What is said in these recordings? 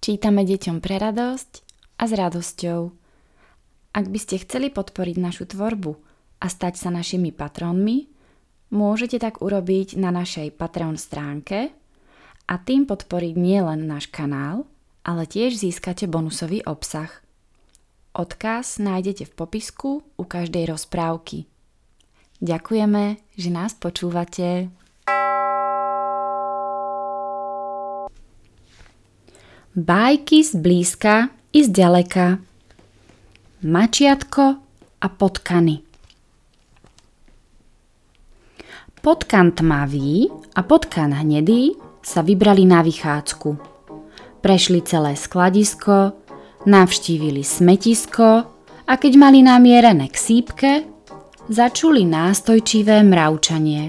Čítame deťom pre radosť a s radosťou. Ak by ste chceli podporiť našu tvorbu a stať sa našimi patrónmi, môžete tak urobiť na našej Patreon stránke a tým podporiť nielen náš kanál, ale tiež získate bonusový obsah. Odkaz nájdete v popisku u každej rozprávky. Ďakujeme, že nás počúvate. Bajky z blízka i z ďaleka. Mačiatko a potkany. Potkan tmavý a potkan hnedý sa vybrali na vychádzku. Prešli celé skladisko, navštívili smetisko a keď mali namierené k sípke, začuli nástojčivé mravčanie.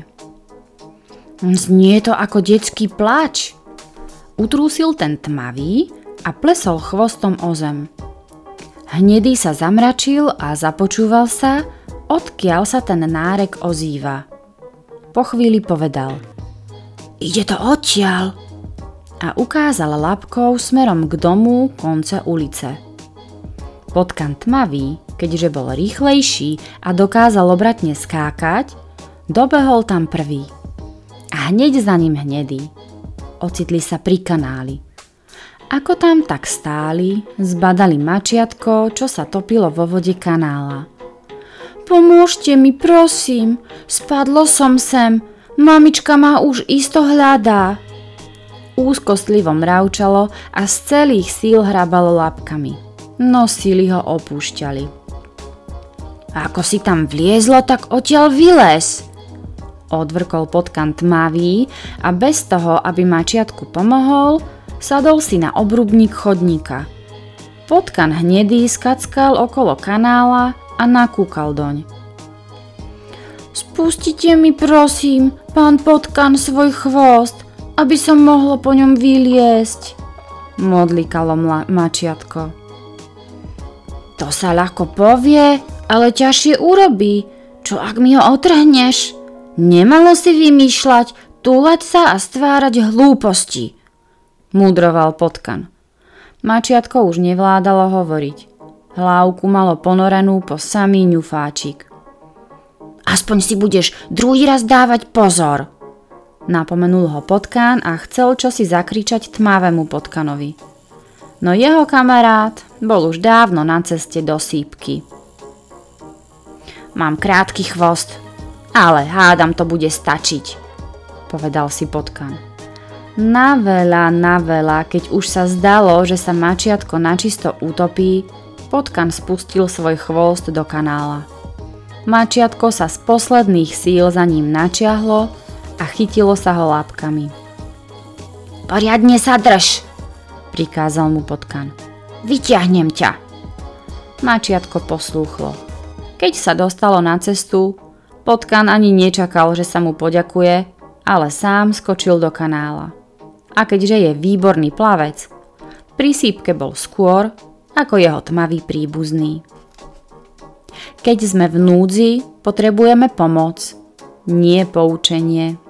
Znie to ako detský pláč. Utrúsil ten tmavý a plesol chvostom o zem. Hnedý sa zamračil a započúval sa, odkiaľ sa ten nárek ozýva. Po chvíli povedal: Ide to odtiaľ. A ukázal labkou smerom k domu konca ulice. Potkan tmavý, keďže bol rýchlejší a dokázal obratne skákať, dobehol tam prvý. A hneď za ním hnedý. Ocitli sa pri kanáli. Ako tam tak stáli, zbadali mačiatko, čo sa topilo vo vode kanála. Pomôžte mi, prosím, spadlo som sem, mamička ma už isto hľadá. Úzkostlivo mravčalo a z celých síl hrabalo labkami, no síly ho opúšťali. Ako si tam vliezlo, tak odtiaľ vylez, odvrkol potkan tmavý a bez toho, aby mačiatku pomohol, sadol si na obrubník chodníka. Potkan hnedý skackal okolo kanála a nakúkal doň. Spustite mi prosím, pán potkan, svoj chvost, aby som mohlo po ňom vyliesť, modlikalo mačiatko. To sa ľahko povie, ale ťažšie urobí. Čo ak mi ho otrhneš? Nemalo si vymýšľať, túlať sa a stvárať hlúposti, múdroval potkan. Mačiatko už nevládalo hovoriť. Hlávku malo ponorenú po samý ňufáčik. Aspoň si budeš druhý raz dávať pozor, napomenul ho potkan a chcel čosi zakričať tmavému potkanovi. No jeho kamarát bol už dávno na ceste do sípky. Mám krátky chvost, ale hádam to bude stačiť, povedal si potkan. Na veľa, keď už sa zdalo, že sa mačiatko načisto utopí, potkan spustil svoj chvost do kanála. Mačiatko sa z posledných síl za ním načiahlo a chytilo sa ho lápkami. Poriadne sa drž, prikázal mu potkan. Vyťahnem ťa. Mačiatko poslúchlo. Keď sa dostalo na cestu, potkan ani nečakal, že sa mu poďakuje, ale sám skočil do kanála. A keďže je výborný plavec, pri sípke bol skôr ako jeho tmavý príbuzný. Keď sme v núdzi, potrebujeme pomoc, nie poučenie.